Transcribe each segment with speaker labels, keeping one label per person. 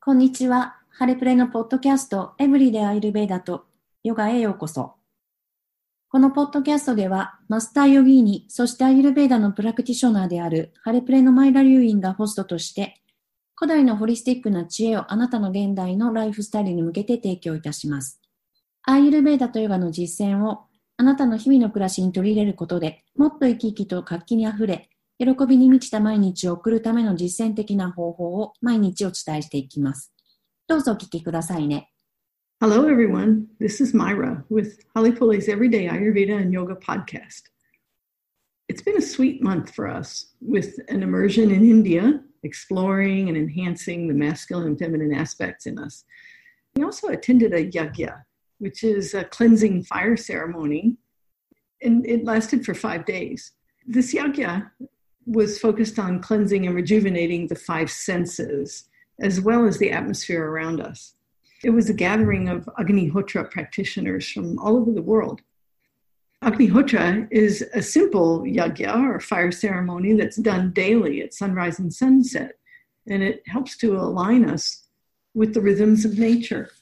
Speaker 1: こんにちは。ハレプレのポッドキャストエブリデアイルベーダとヨガへようこそ。このポッドキャストではマスターヨギーニ、そしてアイルベーダのプラクティショナーであるハレプレのマイラ・リュウインがホストとして古代のホリスティックな知恵をあなたの現代のライフスタイルに向けて提供いたします。アイルベーダとヨガの実践をあなたの日々の暮らしに取り入れることでもっと生き生きと活気にあふれ喜びに満ちた毎日を送るための実践的な方法を毎日お伝えしていきます。どうぞお聞きくださいね。
Speaker 2: Hello, everyone. This is Myra with Halepule's Everyday Ayurveda and Yoga podcast. It's been a sweet month for us with an immersion in India, exploring and enhancing the masculine and feminine aspects in us. We also attended a yagya, which is a cleansing fire ceremony, and it lasted for 5 days. This yagya was focused on cleansing and rejuvenating the 5 senses, as well as the atmosphere around us. It was a gathering of Agnihotra practitioners from all over the world. Agnihotra is a simple yagya or fire ceremony that's done daily at sunrise and sunset, and it helps to align us with the rhythms of nature.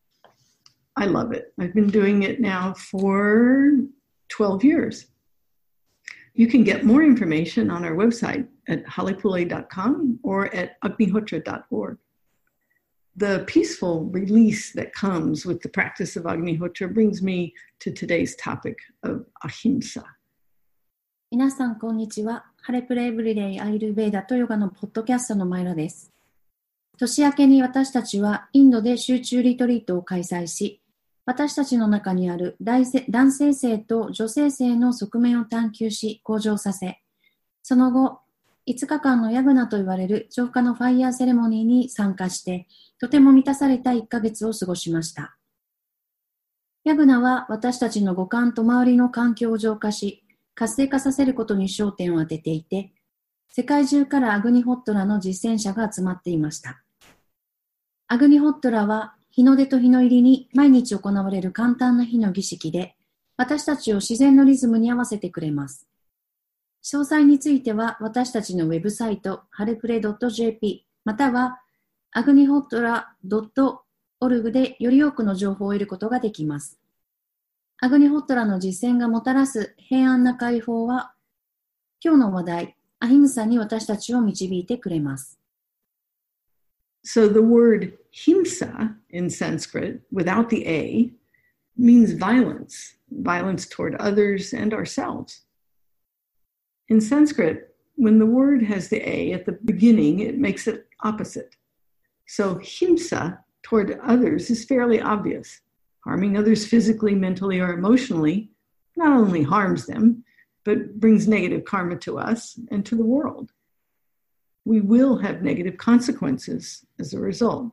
Speaker 2: I love it. I've been doing it now for 12 years. You can get more information on our website at halepule.com or at agnihotra.org. The peaceful release that comes with the practice of Agnihotra brings me to today's topic of ahimsa.
Speaker 1: 皆さんこんにちは。ハレプレエブリデイアイルベーダとヨガのポッドキャストのマイラです。年明けに私たちはインドで集中リトリートを開催し、私たちの中にある男性性と女性性の側面を探求し向上させ、その後、5日間のヤグナと言われる浄化のファイヤーセレモニーに参加して、とても満たされた1ヶ月を過ごしました。ヤグナは私たちの五感と周りの環境を浄化し、活性化させることに焦点を当てていて、世界中からアグニホットラの実践者が集まっていました。アグニホットラは日の出と日の入りに毎日行われる簡単な日の儀式で、私たちを自然のリズムに合わせてくれます。詳細については私たちのウェブサイト、ハレプレ .jp またはagnihotra.org でより多くの情報を得ることができます。アグニホットラの実践がもたらす平安な解放は、今日の話題、アヒムサに私たちを導いてくれます。
Speaker 2: So the word himsa in Sanskrit, without the A, means violence, violence toward others and ourselves. In Sanskrit, when the word has the A at the beginning, it makes it opposite. So himsa toward others is fairly obvious. Harming others physically, mentally, or emotionally not only harms them, but brings negative karma to us and to the world. We will have negative consequences as a result.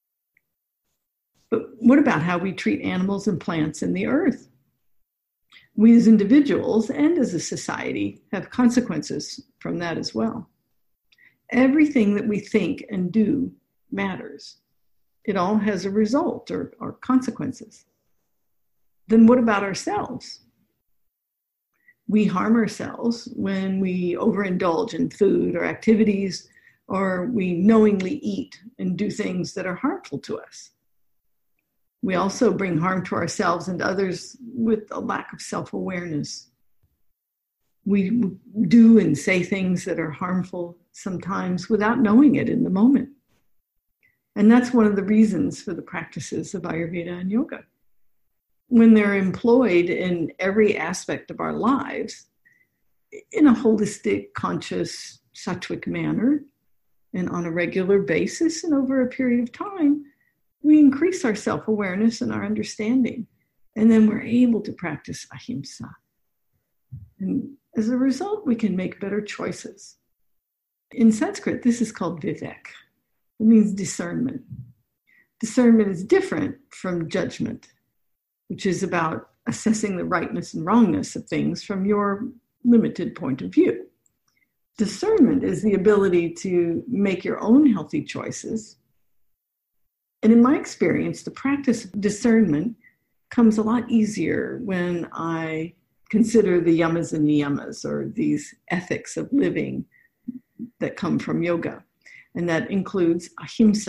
Speaker 2: But what about how we treat animals and plants in the earth? We as individuals and as a society have consequences from that as well. Everything that we think and do matters. It all has a result or consequences. Then what about ourselves? We harm ourselves when we overindulge in food or activities, or we knowingly eat and do things that are harmful to us. We also bring harm to ourselves and others with a lack of self-awareness. We do and say things that are harmful sometimes without knowing it in the moment. And that's one of the reasons for the practices of Ayurveda and yoga. When they're employed in every aspect of our lives, in a holistic, conscious, sattvic manner, and on a regular basis and over a period of time, we increase our self-awareness and our understanding. And then we're able to practice ahimsa. And as a result, we can make better choices. In Sanskrit, this is called vivek. It means discernment. Discernment is different from judgment, which is about assessing the rightness and wrongness of things from your limited point of view. Discernment is the ability to make your own healthy choices. And in my experience, the practice of discernment comes a lot easier when I consider the yamas and niyamas, or these ethics of living that come from yoga. And that includes ahimsa,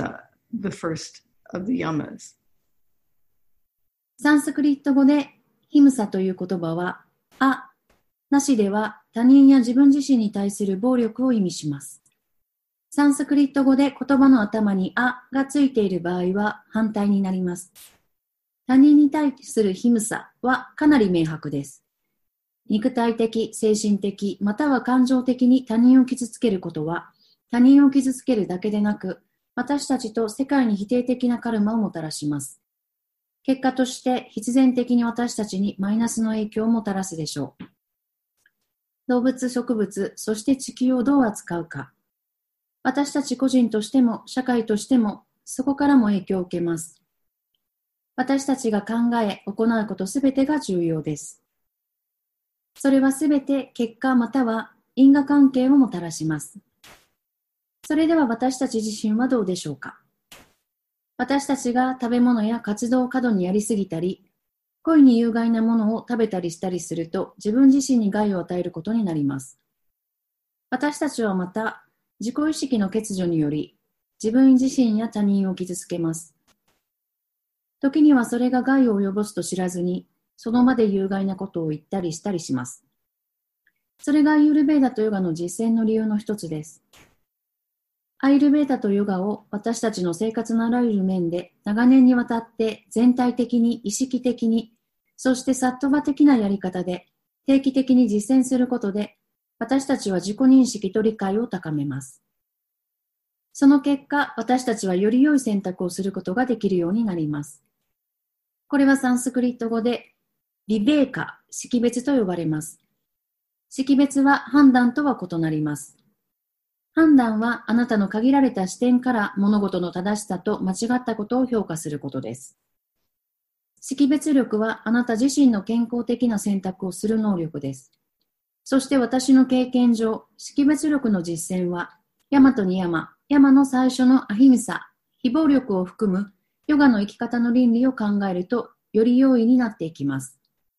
Speaker 2: the first of the yamas.
Speaker 1: サンスクリット語でヒムサという言葉は、なしでは他人や自分自身に対する暴力を意味します。サンスクリット語で言葉の頭にがついている場合は反対になります。他人に対するヒムサはかなり明白です。肉体的、精神的、または感情的に他人を傷つけることは、他人を傷つけるだけでなく、私たちと世界に否定的なカルマをもたらします。結果として必然的に私たちにマイナスの影響をもたらすでしょう。動物、植物、そして地球をどう扱うか。私たち個人としても社会としてもそこからも影響を受けます。私たちが考え、行うことすべてが重要です。それはすべて結果または因果関係をもたらします。それでは私たち自身はどうでしょうか。私たちが食べ物や活動を過度にやりすぎたり、故意に有害なものを食べたりしたりすると自分自身に害を与えることになります。私たちはまた自己意識の欠如により自分自身や他人を傷つけます。時にはそれが害を及ぼすと知らずにその場で有害なことを言ったりしたりします。それがアイユルベーダとヨガの実践の理由の一つです。アイルベーダとヨガを私たちの生活のあらゆる面で長年にわたって全体的に意識的に、そしてサットバ的なやり方で定期的に実践することで私たちは自己認識と理解を高めます。その結果、私たちはより良い選択をすることができるようになります。これはサンスクリット語でビベーカ、識別と呼ばれます。識別は判断とは異なります。判断はあなたの限られた視点から物事の正しさと間違ったことを評価することです。識別力はあなた自身の健康的な選択をする能力です。そして私の経験上、識別力の実践は、ヤマとニヤマ、ヤマの最初のアヒミサ、非暴力を含むヨガの生き方の倫理を考えると、より容易になっていきます。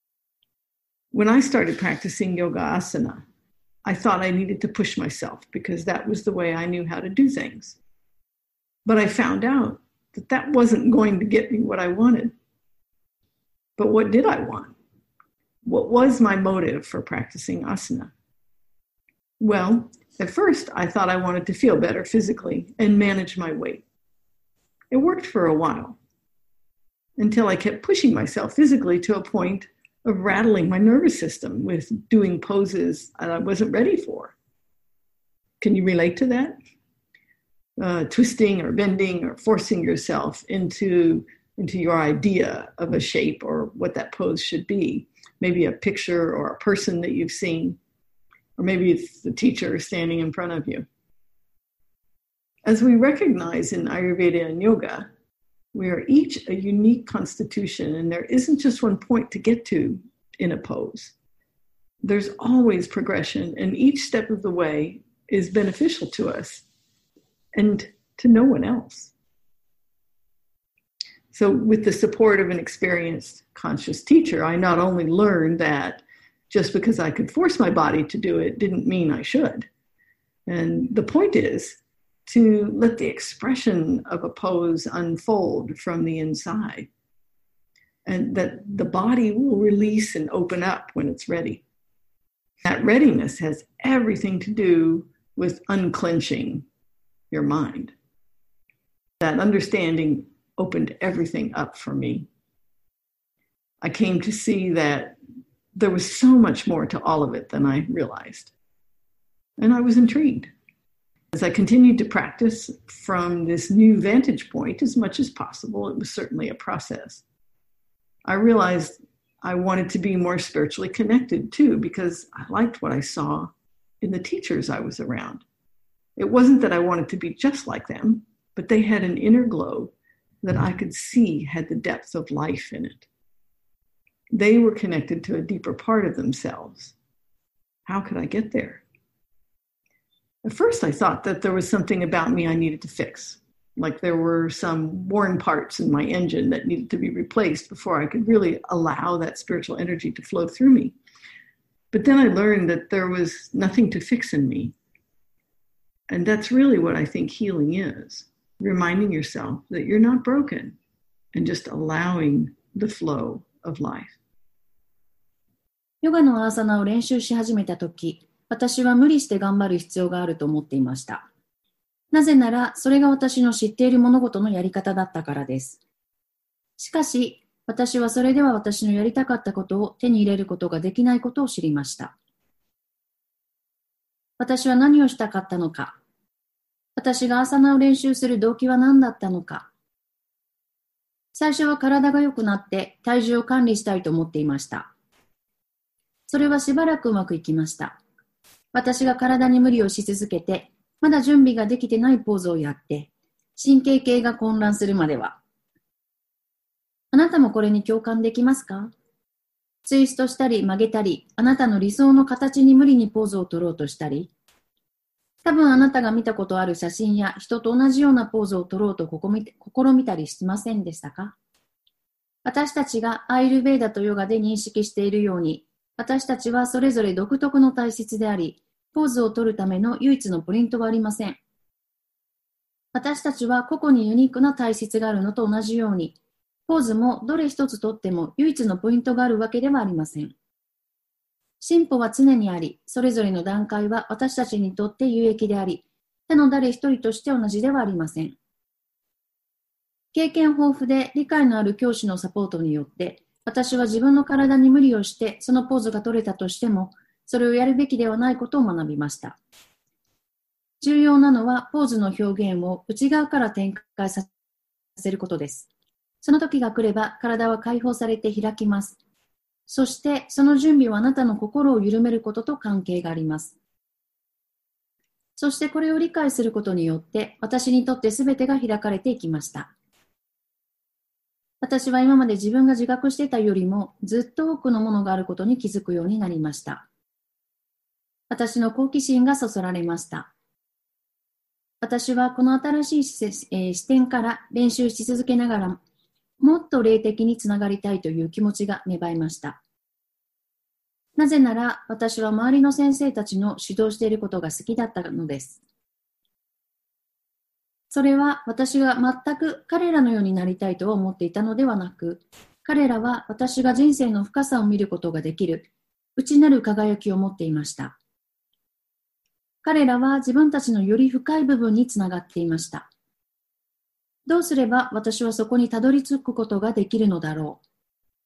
Speaker 2: When I started practicing yoga asana, I thought I needed to push myself because that was the way I knew how to do things. But I found out that that wasn't going to get me what I wanted. But what did I want? What was my motive for practicing asana? Well, at first I thought I wanted to feel better physically and manage my weight. It worked for a while until I kept pushing myself physically to a point of rattling my nervous system with doing poses I wasn't ready for. Can you relate to that? Twisting or bending or forcing yourself into your idea of a shape or what that pose should be. Maybe a picture or a person that you've seen, or maybe it's the teacher standing in front of you. As we recognize in Ayurveda and yoga, we are each a unique constitution, and there isn't just one point to get to in a pose. There's always progression, and each step of the way is beneficial to us and to no one else. So with the support of an experienced conscious teacher, I not only learned that just because I could force my body to do it didn't mean I should. And the point is to let the expression of a pose unfold from the inside, and that the body will release and open up when it's ready. That readiness has everything to do with unclenching your mind. That understanding opened everything up for me. I came to see that there was so much more to all of it than I realized. And I was intrigued. As I continued to practice from this new vantage point as much as possible, it was certainly a process. I realized I wanted to be more spiritually connected too, because I liked what I saw in the teachers I was around. It wasn't that I wanted to be just like them, but they had an inner glow that I could see had the depth of life in it. They were connected to a deeper part of themselves. How could I get there? At first, I thought that there was something about me I needed to fix, like there were some worn parts in my engine that needed to be replaced before I could really allow that spiritual energy to flow through me. But then I learned that there was nothing to fix in me. And that's really what I think healing is. reminding yourself that you're not broken and just allowing the flow of life.
Speaker 1: ヨガのアーサナを練習し始めたとき、私は無理して頑張る必要があると思っていました。なぜなら、それが私の知っている物事のやり方だったからです。しかし、私はそれでは私のやりたかったことを手に入れることができないことを知りました。私は何をしたかったのか。私がアーサナを練習する動機は何だったのか。最初は体が良くなって体重を管理したいと思っていました。それはしばらくうまくいきました。私が体に無理をし続けて、まだ準備ができてないポーズをやって、神経系が混乱するまでは。あなたもこれに共感できますか？ツイストしたり曲げたり、あなたの理想の形に無理にポーズを取ろうとしたり、多分あなたが見たことある写真や人と同じようなポーズを取ろうと試みたりしませんでしたか？私たちがアイルベーダとヨガで認識しているように、私たちはそれぞれ独特の体質であり、ポーズを取るための唯一のプリントはありません。私たちは個々にユニークな体質があるのと同じように、ポーズもどれ一つとっても唯一のポイントがあるわけではありません。進歩は常にあり、それぞれの段階は私たちにとって有益であり、他の誰一人として同じではありません。経験豊富で理解のある教師のサポートによって、私は自分の体に無理をしてそのポーズが取れたとしても、それをやるべきではないことを学びました。重要なのはポーズの表現を内側から展開させることです。その時が来れば体は解放されて開きます。そしてその準備はあなたの心を緩めることと関係があります。そしてこれを理解することによって私にとって全てが開かれていきました。私は今まで自分が自覚していたよりもずっと多くのものがあることに気づくようになりました。私の好奇心がそそられました。私はこの新しい視点から練習し続けながらもっと霊的につながりたいという気持ちが芽生えました。なぜなら私は周りの先生たちの指導していることが好きだったのです。それは私が全く彼らのようになりたいとは思っていたのではなく、彼らは私が人生の深さを見ることができる内なる輝きを持っていました。彼らは自分たちのより深い部分につながっていました。どうすれば私はそこにたどり着くことができるのだろう。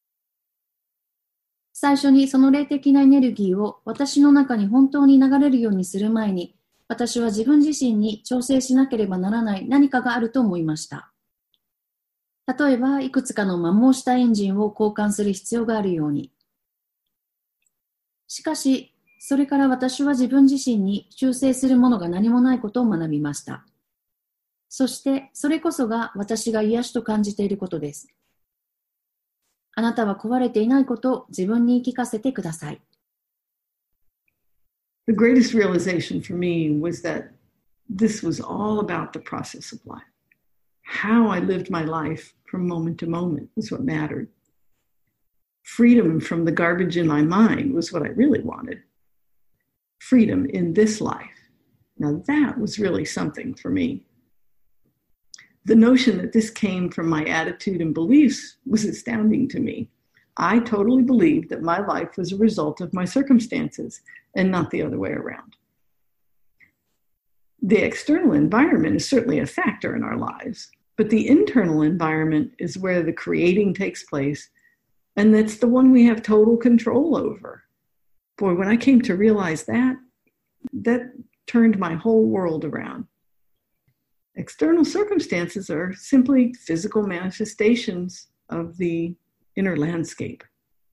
Speaker 1: 最初にその霊的なエネルギーを私の中に本当に流れるようにする前に、私は自分自身に調整しなければならない何かがあると思いました。例えば、いくつかの摩耗したエンジンを交換する必要があるように。しかし、それから私は自分自身に修正するものが何もないことを学びました。そして、それこそが私が癒しと感じていることです。あなたは壊れていないことを自分に言い聞かせてください。
Speaker 2: The greatest realization for me was that this was all about the process of life. How I lived my life from moment to moment was what mattered. Freedom from the garbage in my mind was what I really wanted. Freedom in this life. Now that was really something for me. The notion that this came from my attitude and beliefs was astounding to me. I totally believed that my life was a result of my circumstances and not the other way around. The external environment is certainly a factor in our lives, but the internal environment is where the creating takes place, and that's the one we have total control over. Boy, when I came to realize that turned my whole world around. External circumstances are simply physical manifestations of the inner landscape.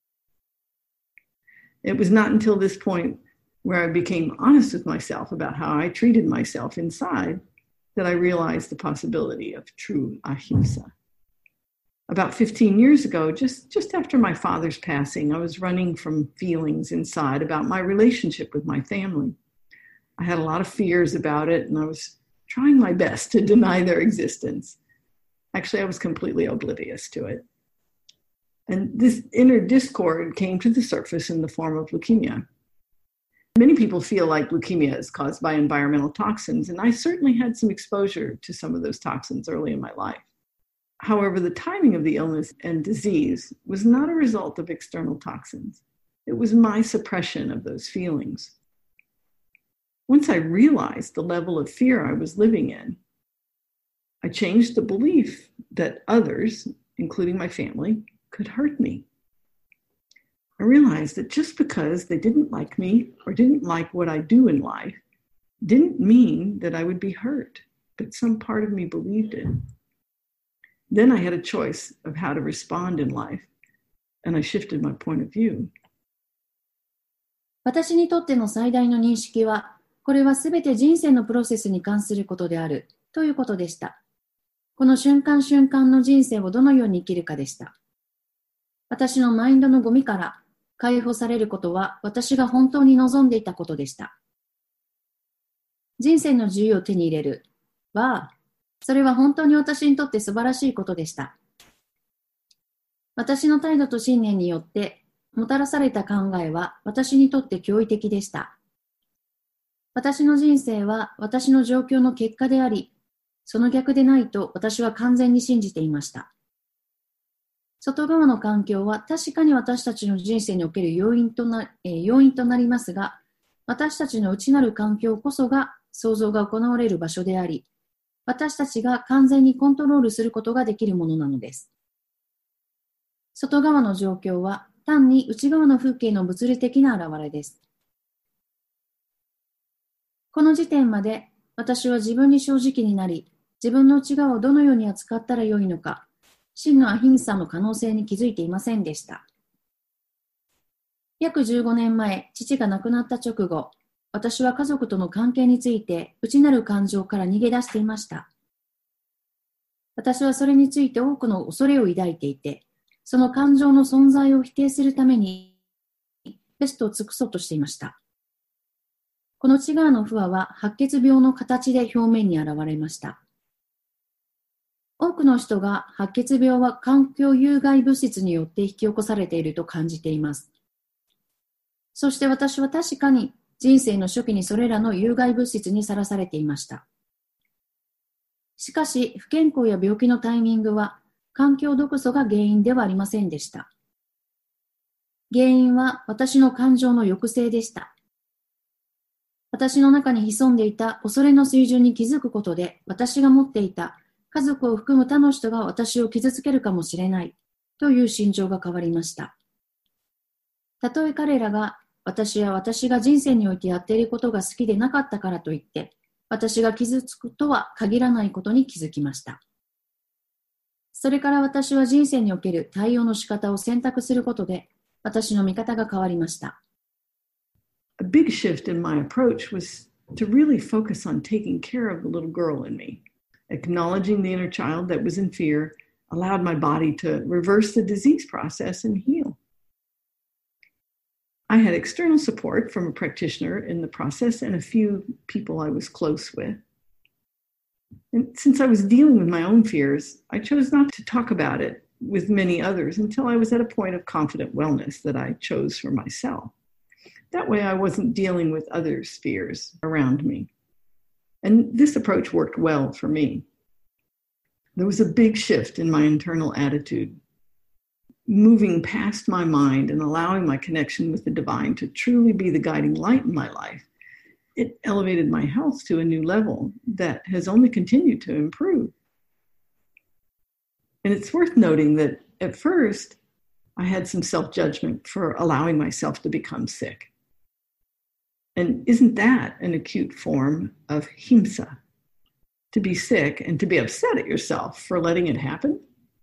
Speaker 2: It was not until this point where I became honest with myself about how I treated myself inside that I realized the possibility of true ahimsa. About 15 years ago, just after my father's passing, I was running from feelings inside about my relationship with my family. I had a lot of fears about it, and I was trying my best to deny their existence. Actually, I was completely oblivious to it. And this inner discord came to the surface in the form of leukemia. Many people feel like leukemia is caused by environmental toxins, and I certainly had some exposure to some of those toxins early in my life. However, the timing of the illness and disease was not a result of external toxins. It was my suppression of those feelings. Once I realized the level of fear I was living in, I changed the belief that others, including my family, could hurt me. I realized that just because they didn't like me or didn't like what I do in life didn't mean that I would be hurt, but some part of me believed it. Then I had a choice of how to respond in life, and I shifted my point of view.
Speaker 1: 私にとっての最大の認識は、これはすべて人生のプロセスに関することであるということでした。この瞬間瞬間の人生をどのように生きるかでした。私のマインドのゴミから解放されることは私が本当に望んでいたことでした。人生の自由を手に入れるは、それは本当に私にとって素晴らしいことでした。私の態度と信念によってもたらされた考えは私にとって驚異的でした。私の人生は私の状況の結果であり、その逆でないと私は完全に信じていました。外側の環境は確かに私たちの人生における要因となりますが、私たちの内なる環境こそが創造が行われる場所であり、私たちが完全にコントロールすることができるものなのです。外側の状況は単に内側の風景の物理的な現れです。この時点まで私は自分に正直になり、自分の内側をどのように扱ったらよいのか、真のアヒンサの可能性に気づいていませんでした。約15年前、父が亡くなった直後、私は家族との関係について内なる感情から逃げ出していました。私はそれについて多くの恐れを抱いていて、その感情の存在を否定するためにベストを尽くそうとしていました。この内側の不和は白血病の形で表面に現れました。多くの人が白血病は環境有害物質によって引き起こされていると感じています。そして私は確かに人生の初期にそれらの有害物質にさらされていました。しかし不健康や病気のタイミングは環境毒素が原因ではありませんでした。原因は私の感情の抑制でした。私の中に潜んでいた恐れの水準に気づくことで、私が持っていた家族を含む他の人が私を傷つけるかもしれないという心情が変わりました。たとえ彼らが私や私が人生においてやっていることが好きでなかったからといって、私が傷つくとは限らないことに気づきました。それから私は人生における対応の仕方を選択することで、私の見方が変わりました。
Speaker 2: A big shift in my approach was to really focus on taking care of the little girl in me. Acknowledging the inner child that was in fear allowed my body to reverse the disease process and heal. I had external support from a practitioner in the process and a few people I was close with. And since I was dealing with my own fears, I chose not to talk about it with many others until I was at a point of confident wellness that I chose for myself. That way I wasn't dealing with others' fears around me. And this approach worked well for me. There was a big shift in my internal attitude, moving past my mind and allowing my connection with the divine to truly be the guiding light in my life. It elevated my health to a new level that has only continued to improve. And it's worth noting that at first, I had some self-judgment for allowing myself to become sick. And isn't that an acute form of himsa? To be sick and to be upset at yourself for letting it happen?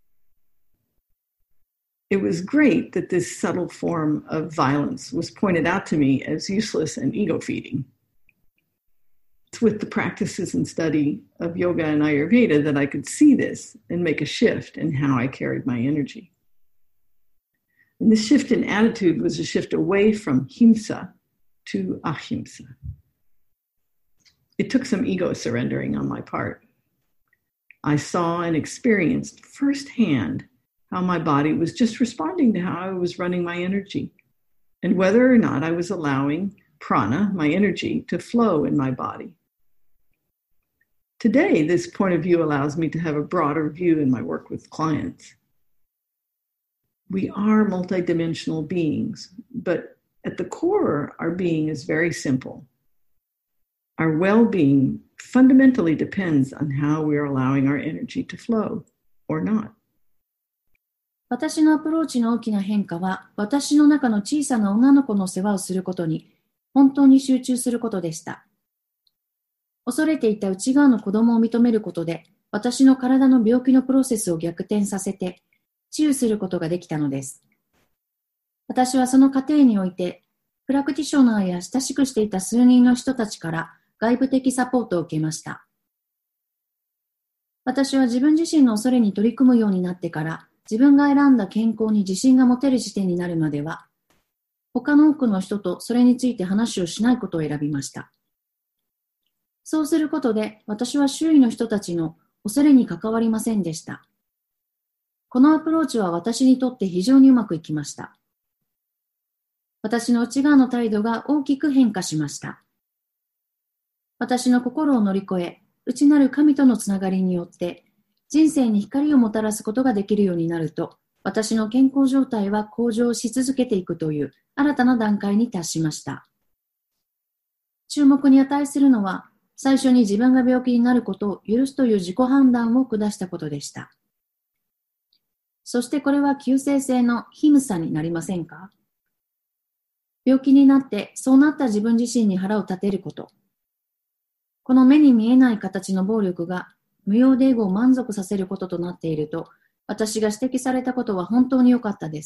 Speaker 2: It was great that this subtle form of violence was pointed out to me as useless and ego-feeding. It's with the practices and study of yoga and Ayurveda that I could see this and make a shift in how I carried my energy. And this shift in attitude was a shift away from himsa to ahimsa. It took some ego surrendering on my part. I saw and experienced firsthand how my body was just responding to how I was running my energy, and whether or not I was allowing prana, my energy, to flow in my body. Today, this point of view allows me to have a broader view in my work with clients. We are multidimensional beings, but at the core, our being is very simple. Our well-being fundamentally depends on how we are allowing our energy to flow or not.
Speaker 1: 私のアプローチの大きな変化は、私の中の小さな女の子の世話をすることに、本当に集中することでした。恐れていた内側の子供を認めることで、私の体の病気のプロセスを逆転させて、治癒することができたのです。私はその過程において、プラクティショナーや親しくしていた数人の人たちから外部的サポートを受けました。私は自分自身の恐れに取り組むようになってから、自分が選んだ健康に自信が持てる時点になるまでは、他の多くの人とそれについて話をしないことを選びました。そうすることで、私は周囲の人たちの恐れに関わりませんでした。このアプローチは私にとって非常にうまくいきました。私の内側の態度が大きく変化しました。私の心を乗り越え、内なる神とのつながりによって、人生に光をもたらすことができるようになると、私の健康状態は向上し続けていくという新たな段階に達しました。注目に値するのは、最初に自分が病気になることを許すという自己判断を下したことでした。そしてこれは急性性のヒムサになりませんか？病気になってそうなった自分自身に腹を立てること。この目に見えない形の暴力が無用でエゴを満足させることとなっていると、私が指摘されたことは本当に良かったです。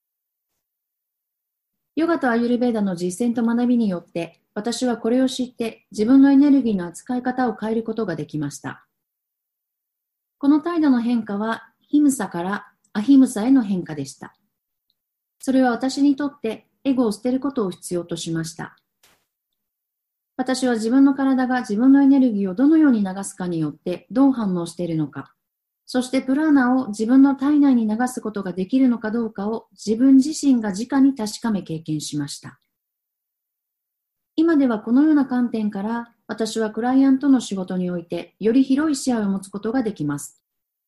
Speaker 1: ヨガとアユルベーダの実践と学びによって、私はこれを知って自分のエネルギーの扱い方を変えることができました。この態度の変化は、ヒムサからアヒムサへの変化でした。それは私にとってエゴを捨てることを必要としました。私は自分の体が自分のエネルギーをどのように流すかによってどう反応しているのか、そしてプラーナを自分の体内に流すことができるのかどうかを自分自身が直に確かめ経験しました。今ではこのような観点から私はクライアントの仕事においてより広い視野を持つことができます。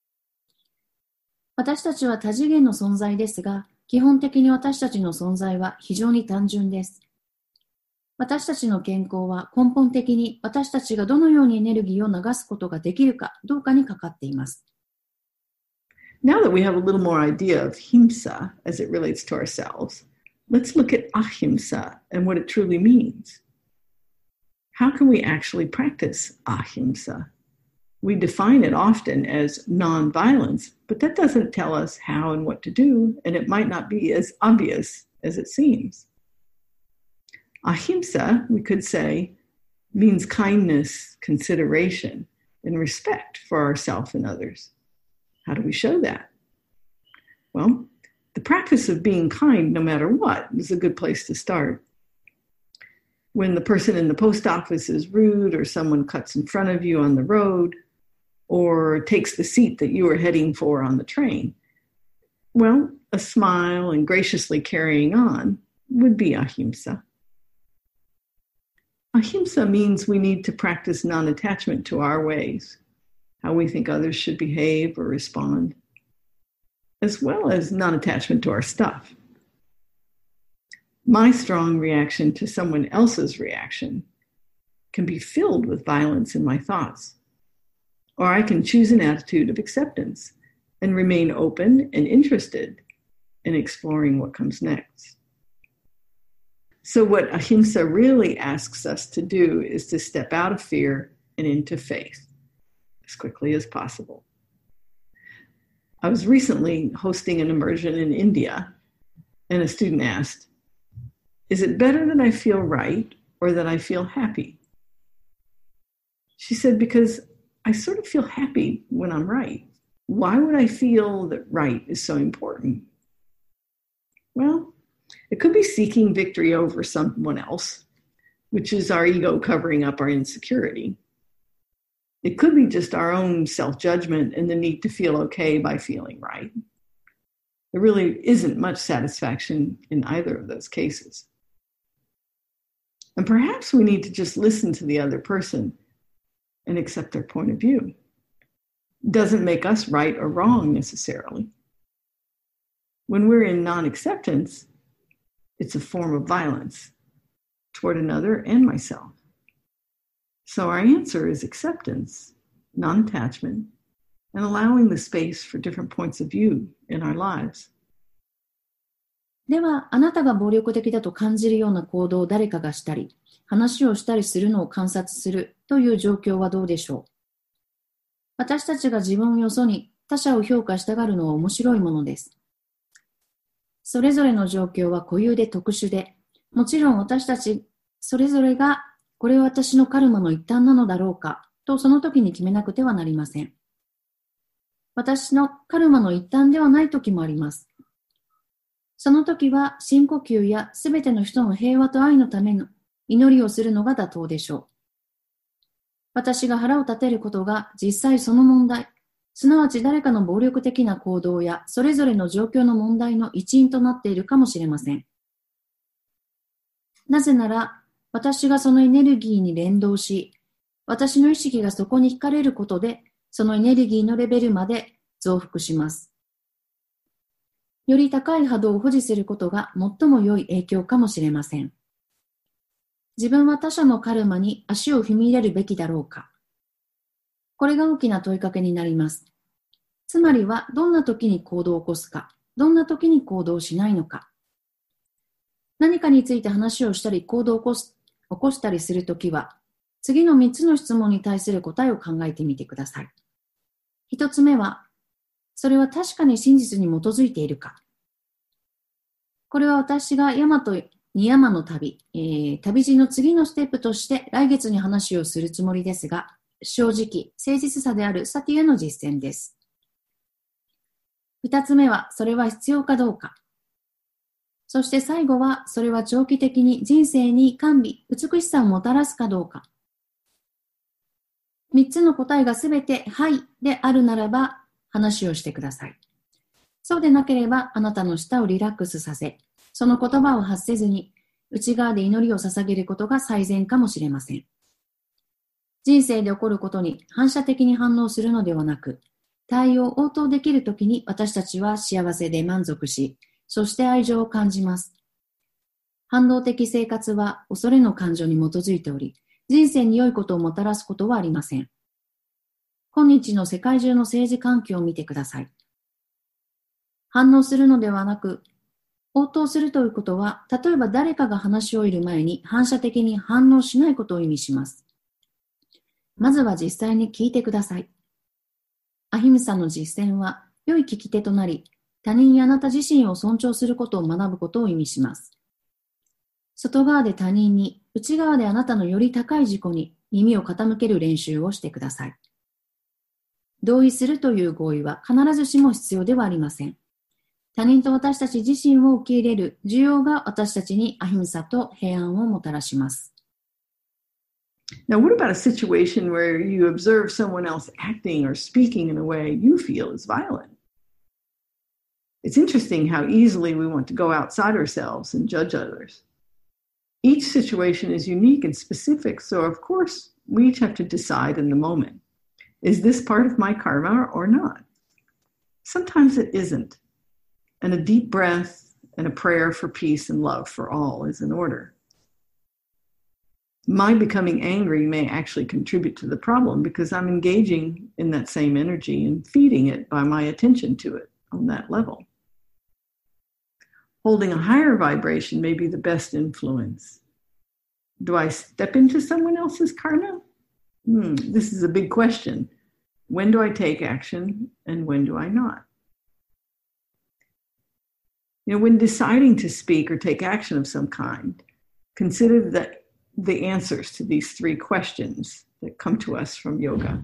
Speaker 1: 私たちは多次元の存在ですが、基本的に私たちの存在は非常に単純です。私たちの健康は根本的に私たちがどのようにエネルギーを流すことができるかどうかにかかっています。
Speaker 2: Now that we have a little more idea of himsa as it relates to ourselves, let's look at ahimsa and what it truly means. How can we actually practice ahimsa? We define it often as non-violence, but that doesn't tell us how and what to do, and it might not be as obvious as it seems. Ahimsa, we could say, means kindness, consideration, and respect for ourselves and others. How do we show that? Well, the practice of being kind no matter what is a good place to start. When the person in the post office is rude or someone cuts in front of you on the road or takes the seat that you were heading for on the train, well, a smile and graciously carrying on would be ahimsa. Ahimsa means we need to practice non-attachment to our ways, how we think others should behave or respond, as well as non-attachment to our stuff. My strong reaction to someone else's reaction can be filled with violence in my thoughts, or I can choose an attitude of acceptance and remain open and interested in exploring what comes next. So what ahimsa really asks us to do is to step out of fear and into faith as quickly as possible. I was recently hosting an immersion in India, and a student asked, "Is it better that I feel right or that I feel happy?" She said, "Because I sort of feel happy when I'm right. Why would I feel that right is so important?" Well, it could be seeking victory over someone else, which is our ego covering up our insecurity. It could be just our own self-judgment and the need to feel okay by feeling right. There really isn't much satisfaction in either of those cases. And perhaps we need to just listen to the other person and accept their point of view. Doesn't make us right or wrong necessarily. When we're in non-acceptance, it's a form of violence toward another and myself. So our answer is acceptance, non-attachment, and allowing the space for different points of view in our lives.
Speaker 1: では、あなたが暴力的だと感じるような行動を誰かがしたり、話をしたりするのを観察するという状況はどうでしょう。私たちが自分をよそに他者を評価したがるのは面白いものです。それぞれの状況は固有で特殊で、もちろん私たちそれぞれがこれは私のカルマの一端なのだろうかとその時に決めなくてはなりません。私のカルマの一端ではない時もあります。その時は深呼吸やすべての人の平和と愛のための祈りをするのが妥当でしょう。私が腹を立てることが実際その問題、すなわち誰かの暴力的な行動やそれぞれの状況の問題の一因となっているかもしれません。なぜなら、私がそのエネルギーに連動し、私の意識がそこに惹かれることで、そのエネルギーのレベルまで増幅します。より高い波動を保持することが最も良い影響かもしれません。自分は他者のカルマに足を踏み入れるべきだろうか。これが大きな問いかけになります。つまりは、どんな時に行動を起こすか、どんな時に行動しないのか。何かについて話をしたり行動を起こしたりするときは、次の3つの質問に対する答えを考えてみてください。1つ目は、それは確かに真実に基づいているか。これは私が山と二山の旅、旅路の次のステップとして来月に話をするつもりですが、正直、誠実さであるサティへの実践です。2つ目は、それは必要かどうか。そして最後は、それは長期的に人生に甘美、美しさをもたらすかどうか。3つの答えがすべてはいであるならば、話をしてください。そうでなければ、あなたの舌をリラックスさせ、その言葉を発せずに、内側で祈りを捧げることが最善かもしれません。人生で起こることに反射的に反応するのではなく、対応応答できるときに私たちは幸せで満足し、そして愛情を感じます。反動的生活は恐れの感情に基づいており、人生に良いことをもたらすことはありません。今日の世界中の政治環境を見てください。反応するのではなく、応答するということは、例えば誰かが話し終える前に反射的に反応しないことを意味します。まずは実際に聞いてください。アヒムサの実践は良い聞き手となり、他人やあなた自身を尊重することを学ぶことを意味します。外側で他人に、内側であなたのより高い自己に耳を傾ける練習をしてください。同意するという合意は必ずしも必要ではありません。他人と私たち自身を受け入れる需要が私たちにアヒムサと平安をもたらします。
Speaker 2: Now, what about a situation where you observe someone else acting or speaking in a way you feel is violent? It's interesting how easily we want to go outside ourselves and judge others. Each situation is unique and specific, so of course, we each have to decide in the moment. Is this part of my karma or not? Sometimes it isn't. And a deep breath and a prayer for peace and love for all is in order. My becoming angry may actually contribute to the problem because I'm engaging in that same energy and feeding it by my attention to it on that level. Holding a higher vibration may be the best influence. Do I step into someone else's karma? This is a big question. When do I take action and when do I not? When deciding to speak or take action of some kind, consider the answers to these 3 questions that come to us from yoga.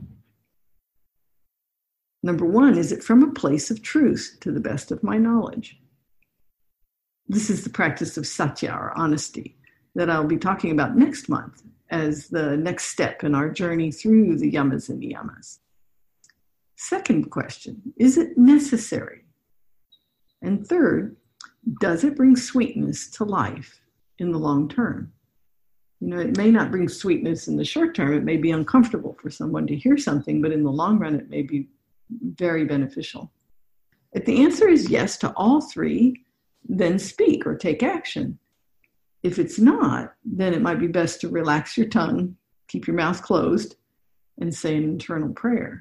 Speaker 2: Number 1, is it from a place of truth to the best of my knowledge? This is the practice of satya, or honesty, that I'll be talking about next month as the next step in our journey through the yamas and niyamas. Second question, is it necessary? And third, does it bring sweetness to life in the long term? It may not bring sweetness in the short term. It may be uncomfortable for someone to hear something, but in the long run, it may be very beneficial. If the answer is yes to all three, then speak or take action. If it's not, then it might be best to relax your tongue, keep your mouth closed, and say an internal prayer.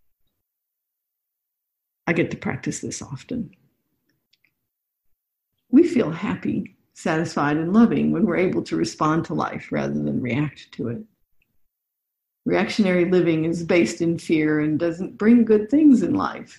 Speaker 2: I get to practice this often. We feel happy, satisfied, and loving when we're able to respond to life rather than react to it. Reactionary living is based in fear and doesn't bring good things in life.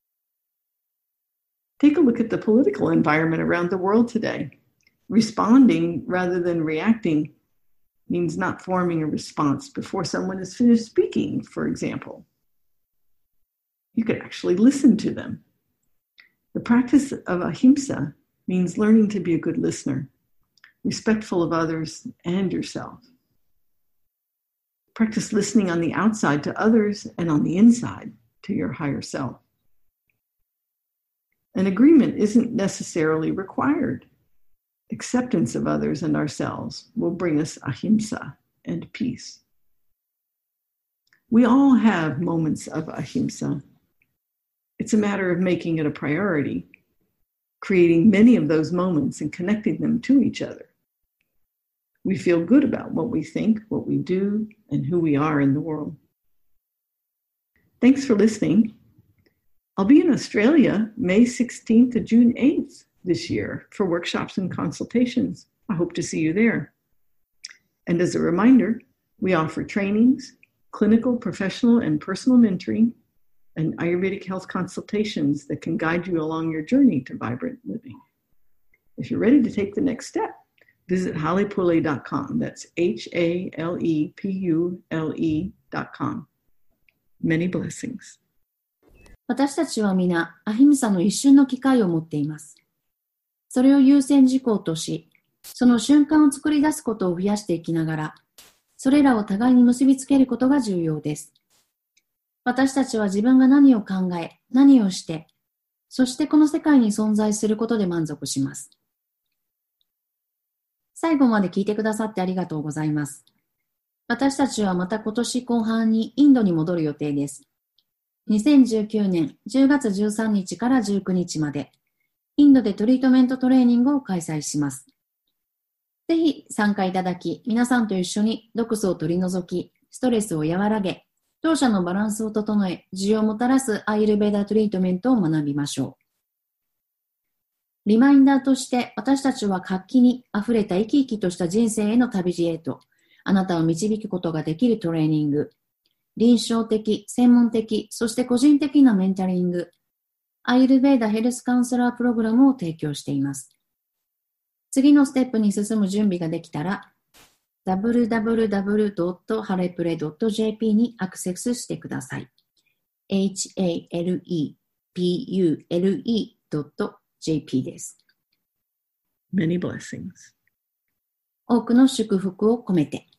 Speaker 2: Take a look at the political environment around the world today. Responding rather than reacting means not forming a response before someone is finished speaking, for example. You could actually listen to them. The practice of ahimsa means learning to be a good listener, respectful of others and yourself. Practice listening on the outside to others and on the inside to your higher self. An agreement isn't necessarily required. Acceptance of others and ourselves will bring us ahimsa and peace. We all have moments of ahimsa. It's a matter of making it a priority, creating many of those moments and connecting them to each other. We feel good about what we think, what we do, and who we are in the world. Thanks for listening. I'll be in Australia May 16th to June 8th this year for workshops and consultations. I hope to see you there. And as a reminder, we offer trainings, clinical, professional, and personal mentoring, and Ayurvedic health consultations that can guide you along your journey to vibrant living. If you're ready to take the next step, visit halepule.com. That's HALEPULE.com. Many blessings.
Speaker 1: 私たちは皆、アヒムサの一瞬の機会を持っています。それを優先事項とし、その瞬間を作り出すことを増やしていきながら、それらを互いに結びつけることが重要です。私たちは自分が何を考え、何をして、そしてこの世界に存在することで満足します。最後まで聞いてくださってありがとうございます。私たちはまた今年後半にインドに戻る予定です。2019年10月13日から19日まで、インドでトリートメントトレーニングを開催します。ぜひ参加いただき、皆さんと一緒に毒素を取り除き、ストレスを和らげ、当社のバランスを整え、需要をもたらすアイルベーダトリートメントを学びましょう。リマインダーとして、私たちは活気にあふれた生き生きとした人生への旅路へと、あなたを導くことができるトレーニング、臨床的、専門的、そして個人的なメンタリング、アイルベーダヘルスカウンセラープログラムを提供しています。次のステップに進む準備ができたら、www.halepule.jp にアクセスしてください。halepule.jp です。
Speaker 2: Many blessings.
Speaker 1: 多くの祝福を込めて。